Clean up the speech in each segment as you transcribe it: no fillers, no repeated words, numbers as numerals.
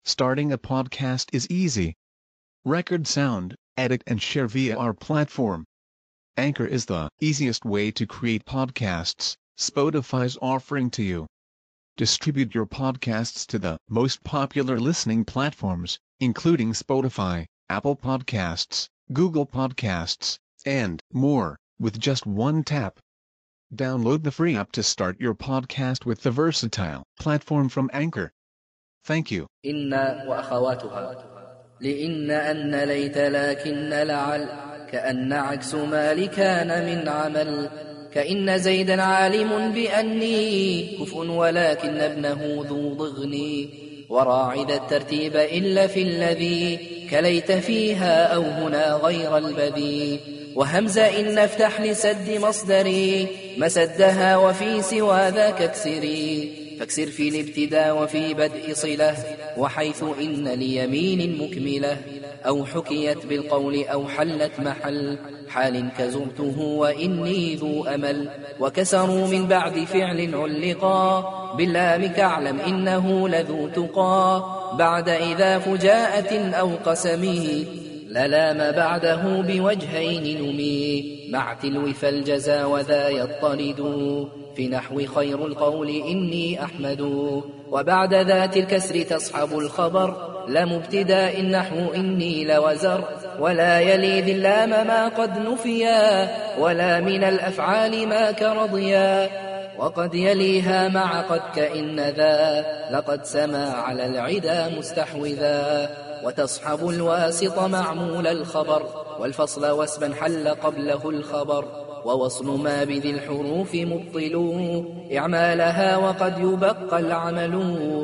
Starting a podcast is easy. Record sound, edit and share via our platform. Anchor is the easiest way to create podcasts. Spotify's offering to you. Distribute your podcasts to the most popular listening platforms, including Spotify, Apple Podcasts, Google Podcasts, and more, with just one tap. Download the free app to start your podcast with the versatile platform from Anchor. Thank you. إن وأخواتها لإن أن ليت لكن لعل كأن عكس ما لكان من عمل كإن زيدا عالم بأني كفء ولكن ابنه ذو ضغني وراعد الترتيب إلا في الذي كليت فيها أو هنا غير البذي وهمزة إن افتح لسد مصدري مسدها وفي سوى ذاك اكسري فاكسر في الابتداء وفي بدء صلة وحيث إن ليمين مكملة أو حكيت بالقول أو حلت محل حال كزرته وإني ذو أمل وكسروا من بعد فعل علقا باللام كاعلم إنه لذو تقى بعد إذا فجاءة أو قسمه للام بعده بوجهين نمي مع تلو فالجزا وذا يطرد في نحو خير القول إني أحمد وبعد ذات الكسر تصحب الخبر لم ابتداء النحو إني لوزر ولا يلي ذي اللام ما قد نفيا ولا من الأفعال ما كرضيا وقد يليها مع قد كإن ذا لقد سما على العدا مستحوذا وتصحب الواسط معمول الخبر والفصل واسما حل قبله الخبر ووصل ما بذي الحروف مبطل إعمالها وقد يبقى العمل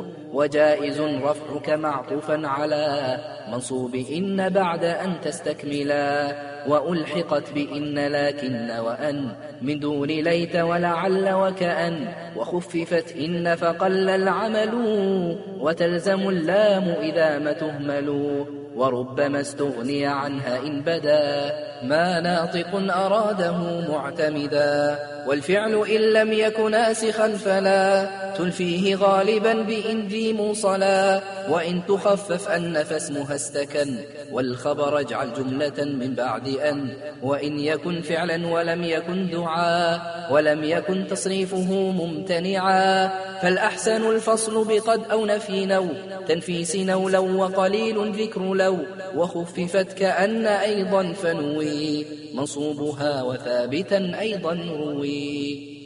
وجائز رفعك معطوفا على منصوب إن بعد أن تستكملا وألحقت بإن لكن وأن من دون ليت ولعل وكأن وخففت إن فقل العمل وتلزم اللام إذا ما تهمل وربما استغني عنها إن بدا ما ناطق أراده معتمدا والفعل إن لم يكن ناسخا فلا تلفيه غالبا بإن ذي موصلا وإن تخفف أن فاسمها استكن والخبر اجعل جملة من بعد أن وإن يكن فعلا ولم يكن دعاء ولم يكن تصريفه ممتنعا فالأحسن الفصل بقد أو نفي نو تنفيس نو لو وقليل ذكر لو وخففت كأن أيضا فنوي منصوبها وثابتا أيضا روي